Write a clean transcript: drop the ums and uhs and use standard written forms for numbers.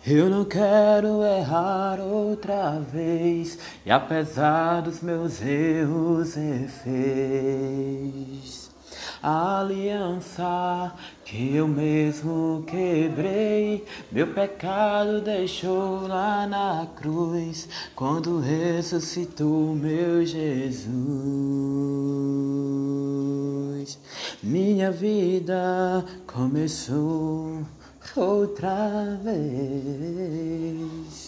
Eu não quero errar outra vez, e apesar dos meus erros refez a aliança que eu mesmo quebrei. Meu pecado deixou lá na cruz, quando ressuscitou meu Jesus. Minha vida começou outra vez.